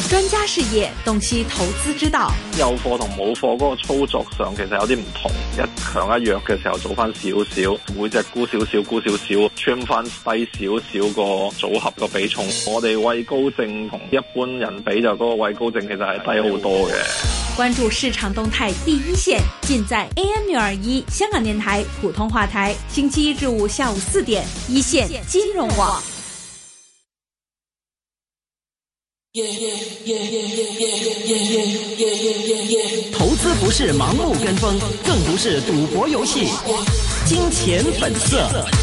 專家視野，洞悉投資之道。 有貨同冇貨嗰個操作上其實有啲唔同，一強一弱嘅時候做翻少少，每隻沽少少沽少少 trim 翻低少少個組合個比重。我哋畏高症同一般人比就嗰個畏高症其實係低好多嘅。 關注市場動態第一線，盡在 AM621 香港電台普通話台，星期一至五下午4點，一線金融網。 投資不是盲目跟風，更不是賭博遊戲。金錢本色。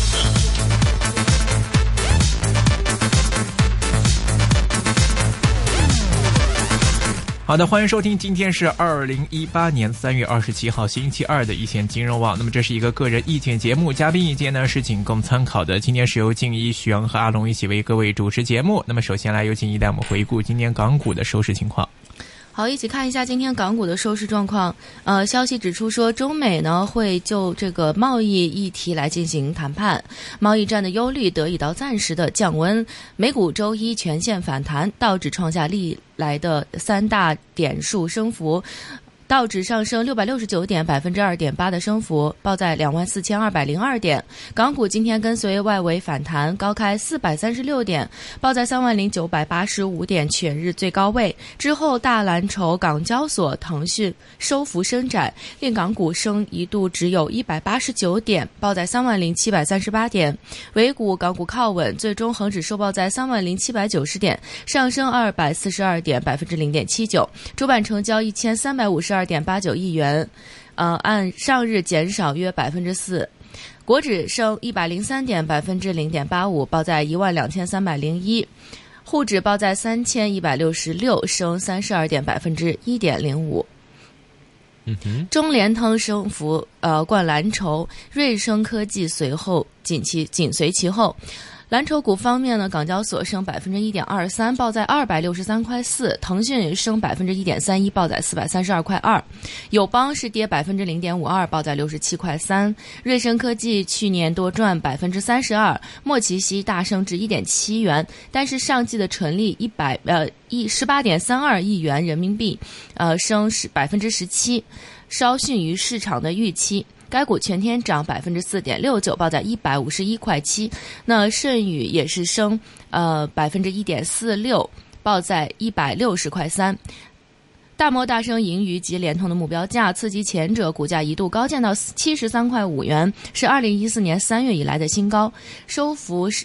好的，欢迎收听，今天是2018年3月27号星期二的一线金融网。那么这是一个个人意见节目，嘉宾意见呢是仅供参考的。今天是由静一、徐阳和阿龙一起为各位主持节目。那么首先来由静一带我们回顾今天港股的收市情况。 好，一起看一下今天港股的收市状况。消息指出说，中美呢会就这个贸易议题来进行谈判，贸易战的忧虑得以到暂时的降温。美股周一全线反弹，道指创下历来的3大点数升幅。道指上升669点，2.8%的升幅，报在24,202点。港股今天跟随外围反弹，高开436点，报在30,985点，全日最高位。之后大蓝筹港交所、腾讯收幅伸展，令港股升一度只有189点，报在30,738点。尾股港股靠稳，最终恒指收报在30,790点，上升242点，0.79%。主板成交1352.89亿元，按上日减少约4%。国指升103点，0.85%，报在12301。沪指报在3166，升32点，1.05%。中联通升幅冠蓝筹，瑞声科技随后紧随其后。蓝筹股方面呢，港交所升1.23%，报在263.4块；腾讯升1.31%，报在432.2块；友邦是跌0.52%，报在67.3块；瑞声科技去年多赚32%，莫奇西大升至1.7元，但是上季的纯利18.32亿元人民币，升17%，稍逊于市场的预期。该股全天涨4.69%，报在151.7块。那舜宇也是升1.46%，报在160.3块。大摩大升盈余及联通的目标价，刺激前者股价一度高见到73.5元，是2014年3月以来的新高，收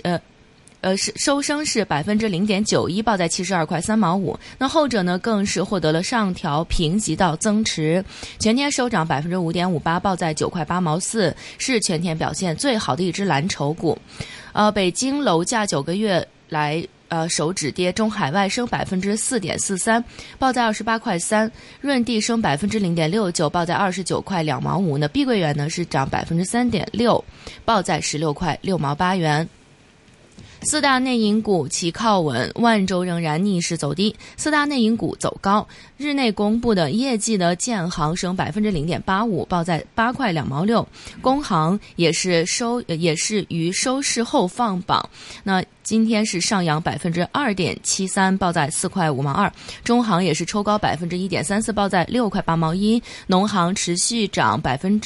升是0.91%，报在72.3块5。那后者呢，更是获得了上调评级到增持，全天收涨5.58%，报在9.8块4，是全天表现最好的一只蓝筹股。北京楼价9个月来首止跌，中海外升4.43%，报在28.3块。润地升0.69%，报在29.2块2毛5。那碧桂园呢是涨3.6%，报在16.6块8元。四大内银股齐靠稳，万洲仍然逆势走低，四大内银股走高。日内公布的业绩的建行升0.85%，报在8块2毛6。工行也是于收市后放榜，那今天是上扬2.73%，报在4块5毛2。中行也是抽高1.34%，报在6块8毛1。农行持续涨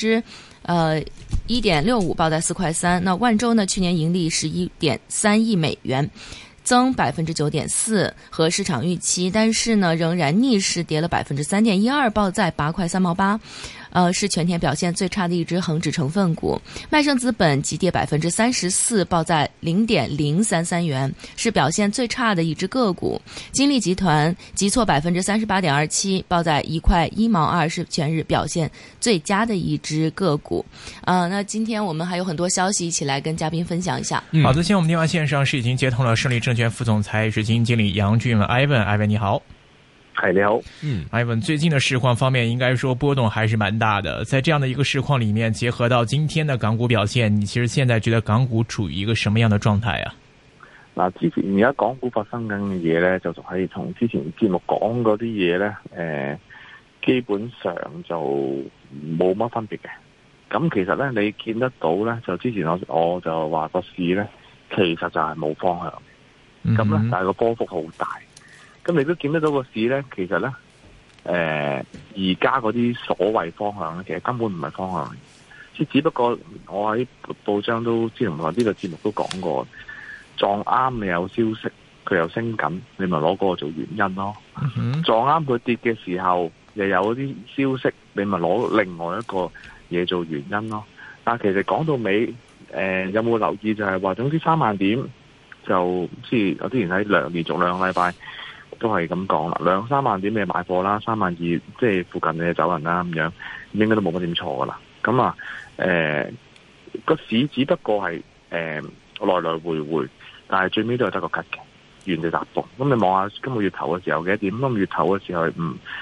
1.65%，报在4块3。那万洲呢，去年盈利是1.3亿美元，增9.4%，和市场预期，但是呢仍然逆势跌了3.12%，报在8块3毛8。是全天表现最差的一只恒指成分股。麦盛资本急跌34%，报在0.033元，是表现最差的一只个股。金利集团急挫38.27%，报在1块1毛2，是全日表现最佳的一只个股。那今天我们还有很多消息，一起来跟嘉宾分享一下。 好的，现在我们电话线上是已经接通了胜利证券副总裁、基金经理杨俊文 Ivan 你好。 係你好 ，Ivan，最近的市況方面，應該說波動還是蠻大的。在這樣的一個市況裡面，結合到今天的港股表現，你其實現在覺得港股處於一個什麼樣的狀態啊？ 嗱，之前而家港股發生緊嘅嘢咧，就係同之前節目講嗰啲嘢咧，基本上就冇乜分別嘅。咁其實咧，你見得到咧，就之前我就話個市咧，其實就係冇方向。咁咧，但係個波幅好大。 咁你都見得到個市咧，其實咧，而家嗰啲所謂方向咧，其實根本唔係方向嚟，即係只不過我喺報章都之前呢個節目都講過，撞啱你有消息，佢又升緊，你咪攞嗰個做原因咯。撞啱佢跌嘅時候，又有啲消息，你咪攞另外一個嘢做原因咯。但係其實講到尾，有冇留意就係話，總之3萬點就即係我之前喺連續2個禮拜都係咁講啦，2-3萬點你買貨啦，3萬2即係附近你就走人啦，咁樣應該都冇乜點錯噶啦。咁啊，個市只不過係來來回回，但係最尾都係得個吉嘅，原地踏步。咁你望下今個月頭嘅時候幾多點？今個月頭嘅時候係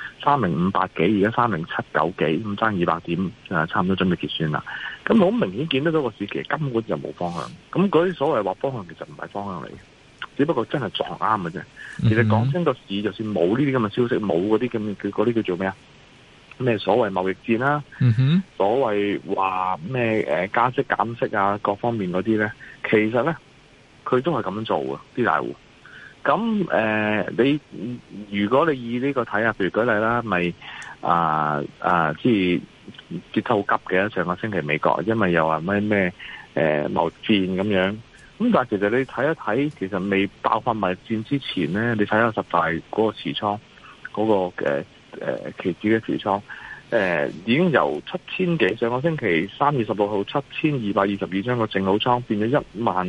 3058幾，而家3079幾，咁爭200點，差唔多準備結算啦。咁好明顯見得到個市其實根本就冇方向。咁嗰啲所謂話方向其實唔係方向嚟嘅，只不過真係撞啱嘅啫。其實講真個市，就算冇呢啲咁嘅消息，冇嗰啲咁嘅嗰啲叫做咩啊？咩所謂貿易戰啦，所謂話咩加息減息啊，各方面嗰啲咧，其實咧佢都係咁樣做嘅啲大戶。咁你如果你以呢個睇下，譬如舉例啦，咪即係跌得好急嘅，上個星期美國因為又話咩貿易戰咁樣。咁但係其實你睇一睇，其實未爆發貿易戰之前咧，你睇下10大嗰個持倉嗰個期指嘅持倉，已經由7000幾，上個星期3月16號7222張個淨好倉變咗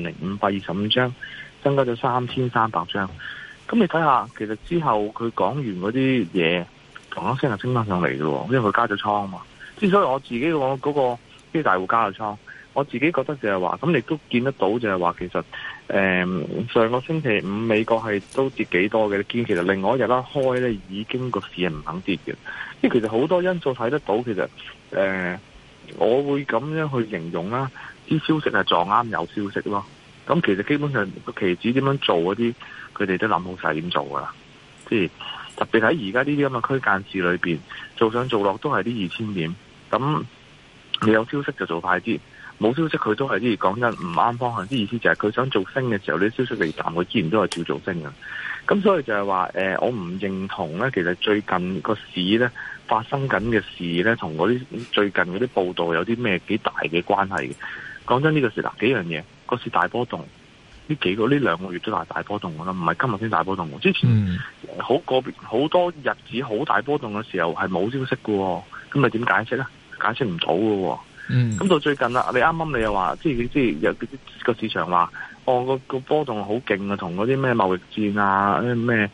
10525張，增加咗3300張。咁你睇下，其實之後佢講完嗰啲嘢，同一聲就升翻上嚟嘅喎，因為佢加咗倉啊嘛。之所以我自己我嗰個啲大戶加咗倉，我自己覺得就係話，咁你都見得到就係話，其實上個星期五美國係都跌幾多嘅，你見其實另外一日啦開咧已經個市係唔肯跌嘅，因為其實好多因素睇得到，其實我會咁樣去形容啦，啲消息係撞啱有消息咯。咁其實基本上個期指點樣做嗰啲，佢哋都諗好晒點做噶啦。即係特別喺而家呢啲咁嘅區間市裏邊，做上做落都係啲2000點。咁你有消息就做快啲，冇消息佢都係啲講真唔啱方向。啲意思就係佢想做升嘅時候，啲消息嚟淡，佢自然都係照做升嘅。咁所以就係話我唔認同咧，其實最近個市咧發生緊嘅事咧，同嗰啲最近嗰啲報道有啲咩幾大嘅關係嘅。講真呢個事嗱幾樣嘢，個市大波動，呢2個月都大波動㗎啦，唔係今日先大波動。之前好個別好多日子好大波動嘅時候係冇消息喎。咁咪點解釋咧？解釋唔到喎。咁到最近啦，你啱啱你又話，即係有個市場話，個波動好勁啊，同嗰啲咩貿易戰啊，咩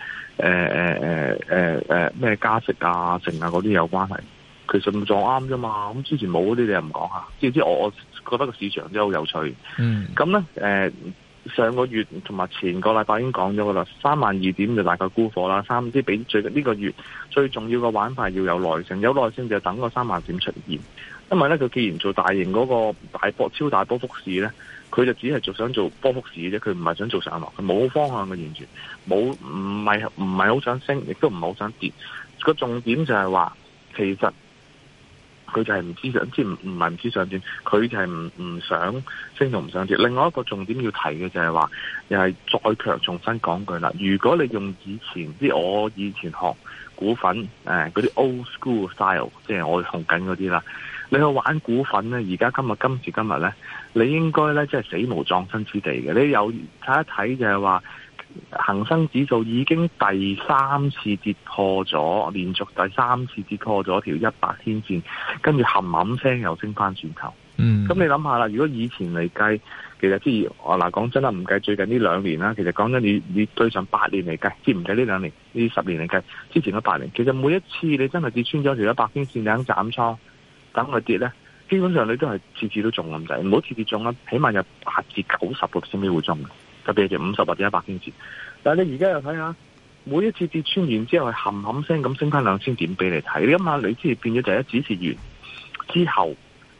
咩加息啊、成啊嗰啲有關係。其實唔撞啱啫嘛。咁之前冇嗰啲你又唔講下，即係我覺得個市場真係好有趣。咁咧上個月同埋前個禮拜已經講咗噶啦，32000點就大概沽貨啦。即係比最近呢個月最重要嘅玩法要有耐性，有耐性就等個30000點出現。因為咧佢既然做大型嗰個超大波幅市咧，佢就只係想做波幅市嘅啫，佢唔係想做上落，佢冇方向嘅，完全冇，唔係好想升，亦都唔係好想跌。個重點就係話，其實佢就係唔知想，即係唔係唔知上轉，佢就係唔想升同唔想跌。另外一個重點要提嘅就係話，又係再強重新講句啦。如果你用以前我以前學股份嗰啲 old school style， 即係我用緊嗰啲啦，你去玩股份咧，而家今時今日咧，你應該咧即係死無葬身之地嘅。你有睇一睇就係話，恒生指數已經第3次跌破咗，連續第3次跌破咗條100天線，跟住冚冚聲又升翻轉頭。咁你諗下啦，如果以前嚟計，其實即係嗱講真啦，唔計最近呢2年啦，其實講真你對上8年嚟計，即係唔計呢2年，呢10年嚟計，之前嗰8年，其實每一次你真係跌穿咗條100天線，你肯斬倉等佢跌咧，基本上你都係次都中咁滯，唔好次中啦，起碼有8至90%先會中嘅。特別係50或者100天線，但係你而家又睇下，每一次跌穿完之後係冚冚聲咁升翻2000點俾你睇，你諗下，你之前變咗第一指示完之後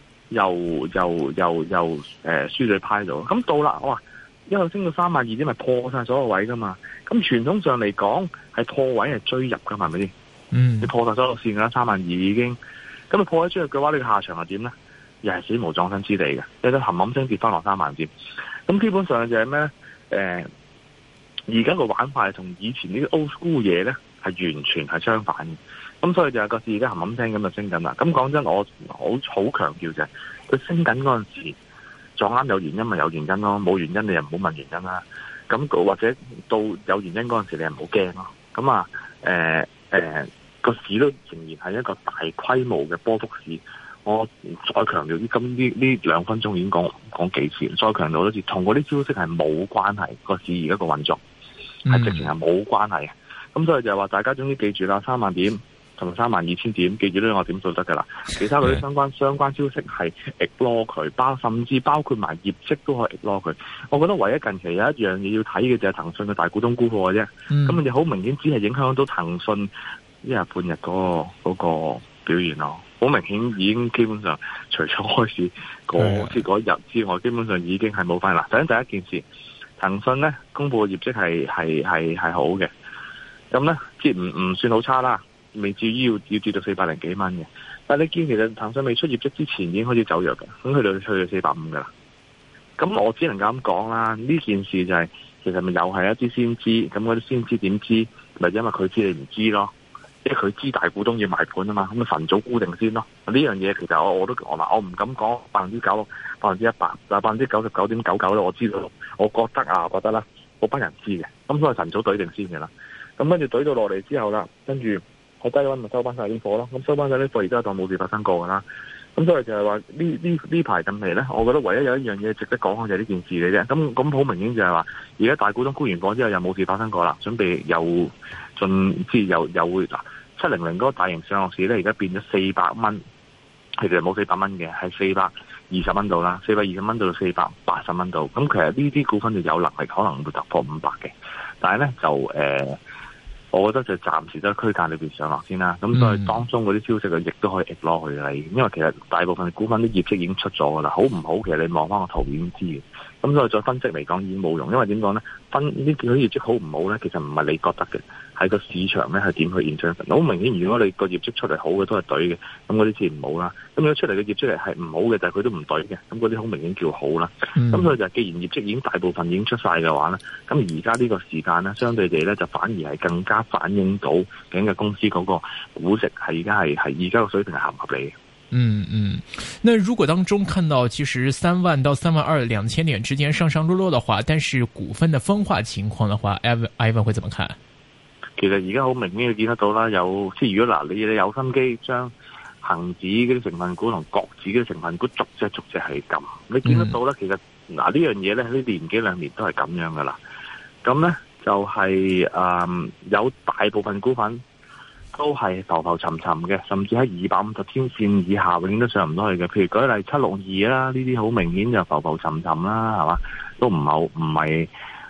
又輸咗派咗，咁到啦，哇！一路升到32000點，咪破晒所有位噶嘛？咁傳統上嚟講係破位係追入噶嘛？係咪先？你破晒所有線噶啦，32000已經，咁你破位追入嘅話，你個下場係點咧？又係死無葬身之地嘅，有得冚冚聲跌翻落30000點，咁基本上就係咩咧？ 而家個玩法係同以前呢啲 old school 嘢咧係完全係相反嘅。咁所以就係個市而家冚冚聲咁就升緊啦。咁講真，我好強調就係佢升緊嗰陣時撞啱有原因咪有原因咯，冇原因你又唔好問原因啦。咁或者到有原因嗰陣時你又唔好驚咯。咁個市都仍然係一個大規模嘅波幅市。我再強調啲，呢2分鐘已經講幾次，再強調多次，同嗰啲消息係冇關係，個市而家個運作係直情係冇關係嘅。咁所以就係話大家總之記住啦，3萬點同埋32000點，記住呢個點數得噶啦。其他嗰啲相關消息係 ignore 佢，甚至包括埋業績都可以 ignore 佢。我覺得唯一近期有一樣嘢要睇嘅就係騰訊嘅大股東沽貨嘅啫。咁你好明顯只係影響到騰訊一日半日嗰個表現咯。好明顯已經基本上除咗開始嗰日之外，基本上已經係冇翻啦。首先第一件事，騰訊咧公布嘅業績係好嘅，咁咧即係唔算好差啦，未至於要跌到400幾蚊嘅。但係你見其實騰訊未出業績之前已經開始走弱嘅，咁去到450噶啦。咁我只能夠咁講啦，呢件事就係其實咪又係一啲先知，咁嗰啲先知點知？咪因為佢知你唔知咯。即係佢知大股東要賣盤啊嘛，咁咪晨早沽定先咯。呢樣嘢其實我唔敢講90%、100%，但係99.99%咧，我知道，我覺得啦，嗰班人知嘅，咁所以晨早懟定先嘅啦。咁跟住懟到落嚟之後啦，跟住喺低位咪收翻晒啲貨咯。咁收翻晒啲貨，而家當冇事發生過噶啦。咁所以就係話呢排近期咧，我覺得唯一有一樣嘢值得講嘅就係呢件事嚟啫。咁好明顯就係話，而家大股東沽完貨之後又冇事發生過啦，準備又會嗱700嗰個大型上落市咧，而家變咗400蚊，其實冇400蚊嘅，係420蚊度啦，420蚊到480蚊度。咁其實呢啲股份就有能力可能會突破500嘅，但係咧就我覺得就暫時都喺區間裏邊上落先啦。咁所以當中嗰啲消息亦都可以 ignore 佢啦。因為其實大部分股份啲業績已經出咗噶啦，好唔好其實你望翻個圖已經知嘅。咁所以再分析嚟講已經冇用，因為點講咧？呢啲業績好唔好咧？其實唔係你覺得嘅，係個市場咧係點去 interpret。好明顯，如果你個業績出嚟好嘅都係對嘅，咁嗰啲自然唔好啦。咁如果出嚟嘅業績係唔好嘅，但係佢都唔對嘅，咁嗰啲好明顯叫好啦。咁所以就既然業績已經大部分已經出晒嘅話咧，咁而家呢個時間咧，相對地咧就反而係更加反映到究竟嘅公司嗰個估值係而家個水平係合唔合理嘅。 那如果當中看到其實3萬到32000點之間上上落落的話，但是股份的分化情況的話 Ivan 會怎麼看？ 其實而家好明顯見得到啦，即係如果你有心機將恒指嗰啲成分股同國指嗰啲成分股逐隻係咁，你見得到咧，其實呢樣嘢咧呢年幾兩年都係咁樣噶啦。咁咧就係有大部分股份都係浮浮沉沉嘅，甚至喺250天線以下永遠都上唔到去嘅。譬如舉例762啦，呢啲好明顯就浮浮沉沉啦，係嘛？都唔係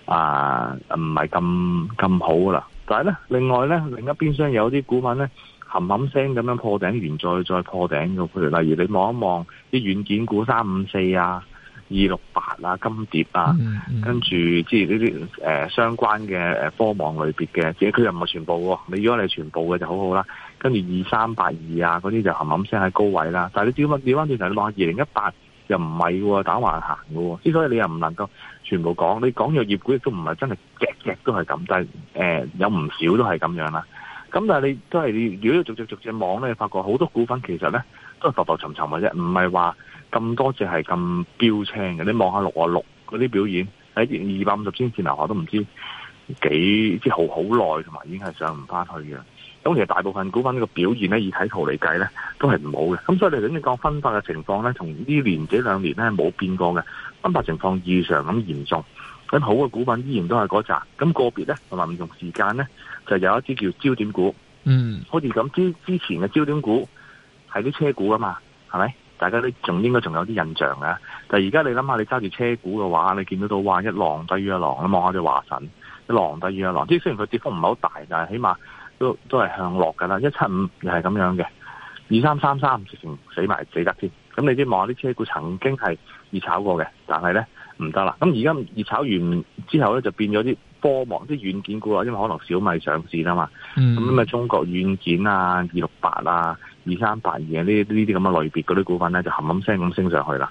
咁好噶啦。但係咧，另外咧，另一邊廂有啲股份咧，冚聲咁樣破頂完再破頂嘅。譬如例如你望一望啲軟件股354啊、268啊、金蝶啊，跟住即係呢啲相關嘅科網類別嘅，自己佢又唔係全部喎。你如果你係全部嘅就好好啦。跟住2382啊嗰啲就冚聲喺高位啦。但係你調翻轉頭，你望下2018又唔係喎，打橫行嘅喎。之所以你又唔能夠全部講，你講藥業股亦都唔係真係隻都係咁，但係有唔少都係咁樣啦。咁但係你都係如果逐隻望咧，你發覺好多股份其實咧都係浮浮沉沉嘅啫，唔係話咁多隻係咁標青嘅。你望下666嗰啲表現喺250天線樓下都唔知幾即係好耐，同埋已經係上唔翻去嘅。咁其實大部分股份呢個表現咧，以睇圖嚟計咧，都係唔好嘅。咁所以你頭先講分化嘅情況咧，同呢年幾兩年咧冇變過嘅，分化情況異常咁嚴重。咁好嘅股份依然都係嗰扎，咁個別咧同埋唔同時間咧，就有一啲叫焦點股。好似咁之前嘅焦點股係啲車股啊嘛，係咪？大家都應該仲有啲印象嘅。但係而家你諗下，你揸住車股嘅話，你見到哇一浪低於一浪，你望下隻華晨一浪低於一浪。即係雖然佢跌幅唔係好大，但係起碼都係向落㗎啦。175又係咁樣嘅，2333直情死得添。咁你知望下啲車股曾經係熱炒過嘅，但係咧唔得啦。咁而家熱炒完之後咧，就變咗啲科網啲軟件股啦，因為可能小米上市啦嘛。咁中國軟件啊、268啊、2382啊呢啲咁嘅類別嗰啲股份咧，就冚聲咁升上去啦。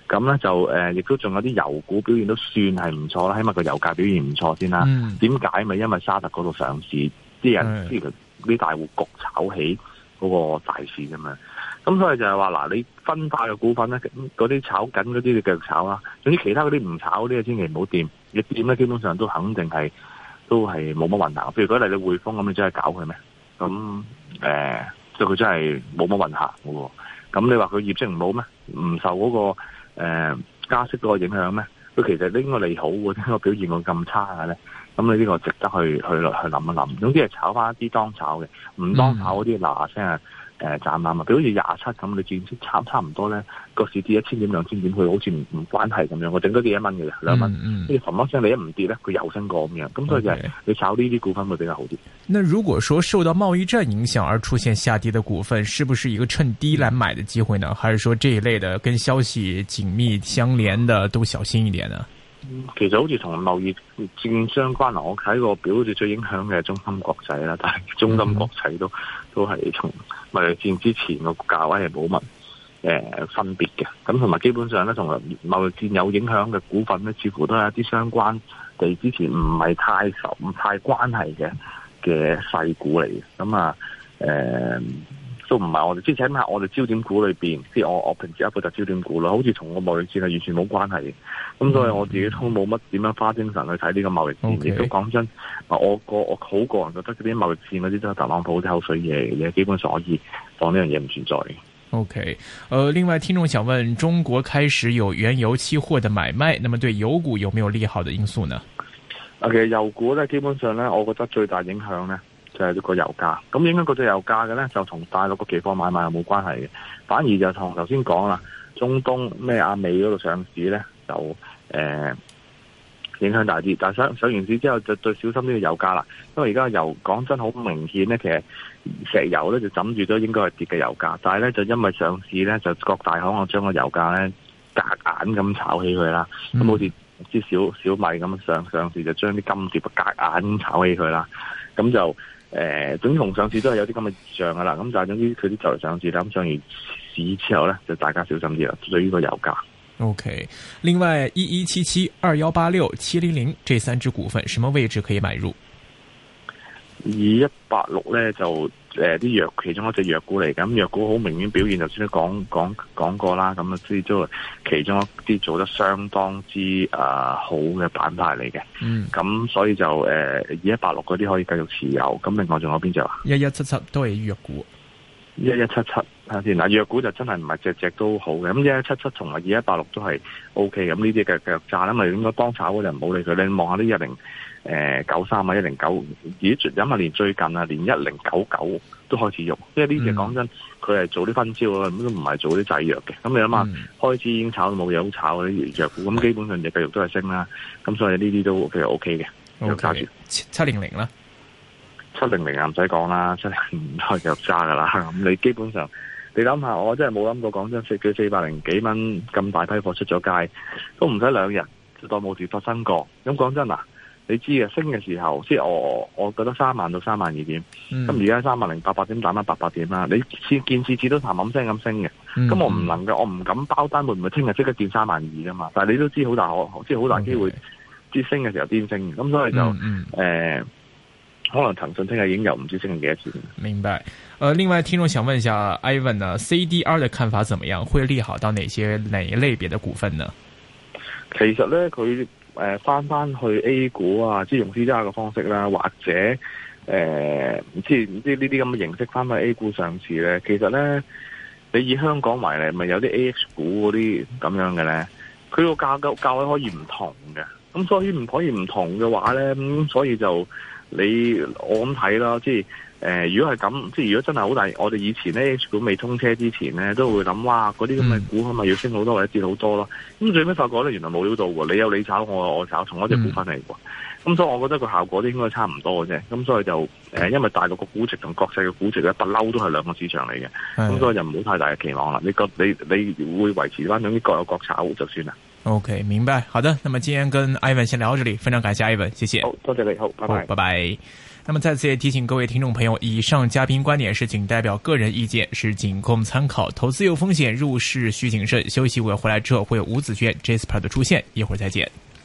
咁咧就亦都仲有啲油股表現都算係唔錯啦，起碼個油價表現唔錯先啦。點解？咪因為沙特嗰度上市，啲人啲大戶焗炒起嗰個大市啫嘛。咁所以就係話嗱，你分派嘅股份咧，嗰啲炒緊嗰啲你繼續炒啦。總之其他嗰啲唔炒嗰啲，千祈唔好掂。你掂咧，基本上都肯定係都係冇乜運行。譬如舉例你匯豐咁，你真係搞佢咩？咁即係佢真係冇乜運行嘅喎。咁你話佢業績唔好咩？唔受嗰個加息嗰個影響咩？佢其實應該利好喎，點解表現會咁差嘅咧？咁你呢個值得去諗一諗。總之係炒翻一啲當炒嘅，唔當炒嗰啲嗱聲斬纜啊！譬如好似27咁，你見差唔多咧，個市跌1000點2000點，佢好似唔關係咁樣，我整多啲1蚊嘅啫，2蚊。跟住嘭一聲，你一唔跌咧，佢又升過咁樣。咁所以就係你炒呢啲股份會比較好啲。 那如果說受到貿易戰影響而出現下跌的股份，是不是一個趁低來買的機會呢？還是說這一類的跟消息緊密相連的都小心一點呢？ 其實好似同貿易戰相關啦，我睇個表好似最影響嘅係中芯國際啦，但係中芯國際都係從貿易戰之前個價位係冇乜分別嘅。咁同埋基本上咧，同貿易戰有影響嘅股份咧，似乎都係一啲相關地之前唔係太熟、唔太關係嘅細股嚟嘅。咁都唔係我哋，即係起碼我哋焦點股裏邊，即係我平時一個就焦點股啦，好似同個貿易戰係完全冇關係嘅。咁所以我自己都冇乜點樣花精神去睇呢個貿易戰。亦都講真，我好個人覺得嗰啲貿易戰嗰啲都係特朗普啲口水嘢，基本上可以當呢樣嘢唔存在嘅。 OK，另外聽眾想問，中國開始有原油期貨的買賣，那麼對油股有沒有利好的因素呢？ 其實油股咧，基本上咧，我覺得最大影響咧，就係個油價。咁影響嗰隻油價嘅咧，就同大陸個期貨買賣係冇關係嘅，反而就同頭先講啦，中東咩亞美嗰度上市咧，就影響大啲。但係上完市之後就最小心呢個油價啦，因為而家油講真好明顯咧，其實石油咧就枕住咗應該係跌嘅油價，但係咧就因為上市咧，就各大行我將個油價咧夾硬咁炒起佢啦，咁好似啲小米咁上市就將啲金碟夾硬炒起佢啦，咁就總之同上市都係有啲咁嘅異象噶啦，咁但係總之佢啲就嚟上市啦，咁上完市之後咧就大家小心啲啦，對於個油價。 OK， 另外1177、2186、700這三隻股份，什麼位置可以買入 ？2186咧就啲藥其中一隻藥股嚟，咁藥股好明顯表現，就先都講過啦，咁啊即係其中一啲做得相當之好嘅板塊嚟嘅。咁所以就2186嗰啲可以繼續持有。咁另外仲有邊隻啊？1177 都係藥股。 1177睇下先嗱，藥股就真係唔係隻都好嘅。咁1177同埋2186都係 O K 咁，呢啲繼續揸啦。咪應該當炒嗰就唔好理佢。你望下啲1093啊109，飲下連最近啊連1099都開始用，因為呢隻講真，佢係做啲分招啊，咁都唔係做啲製藥嘅。咁你諗下，開始已經炒到冇嘢好炒嗰啲藥股，咁基本上就繼續都係升啦。咁所以呢啲都其實 O K 嘅，有揸住。 700啦。 700啊，唔使講啦，700唔開就揸噶啦。咁你基本上，你諗下，我真係冇諗過，講真，佢400幾蚊咁大批貨出咗街，都唔使2日就當冇事發生過。咁講真嗱，你知嘅升嘅時候，即係我覺得3萬到3萬2點，咁而家30800點打翻800點啦。你見次都嘭聲咁升嘅，咁我唔能夠，我唔敢包單會唔會聽日即刻見3萬2噶嘛？但係你都知好大即係好大機會，即係升嘅時候癲升，咁所以就可能騰訊聽日已經有唔知升幾多錢。 明白。另外聽眾想問一下 Ivan 呢 CDR 的看法怎麼樣？會利好到哪一類別的股份呢？ 其實咧，佢翻去 A 股啊，即係用 CDR 嘅方式啦，或者唔知呢啲咁嘅形式翻去 A 股上市咧，其實咧，你以香港為例，咪有啲 AH 股嗰啲咁樣嘅咧，佢個價位可以唔同嘅，咁所以唔可以唔同嘅話咧，咁所以就我咁睇啦，即係如果係咁，即係如果真係好大，我哋以前咧 H 股未通車之前咧，都會諗哇，嗰啲咁嘅股係咪要升好多或者跌好多咯？咁最尾發覺咧，原來冇料到喎，你有你炒，我炒，同一隻股份嚟喎。咁所以我覺得個效果都應該差唔多嘅啫。咁所以就因為大陸個估值同國際嘅估值咧，不嬲都係兩個市場嚟嘅。咁所以就唔好太大嘅期望啦。你會維持翻，總之各有各炒就算啦。 OK， 明白。好的，那麼今天跟 Ivan 先聊到這裡，非常感謝 Ivan，謝謝。 好多謝你，好，拜拜， 拜拜。 那么再次也提醒各位听众朋友，以上嘉宾观点是仅代表个人意见，是仅供参考，投资有风险，入市需谨慎。休息会回来之后会有吴子轩 Jasper 的出现，一会儿再见。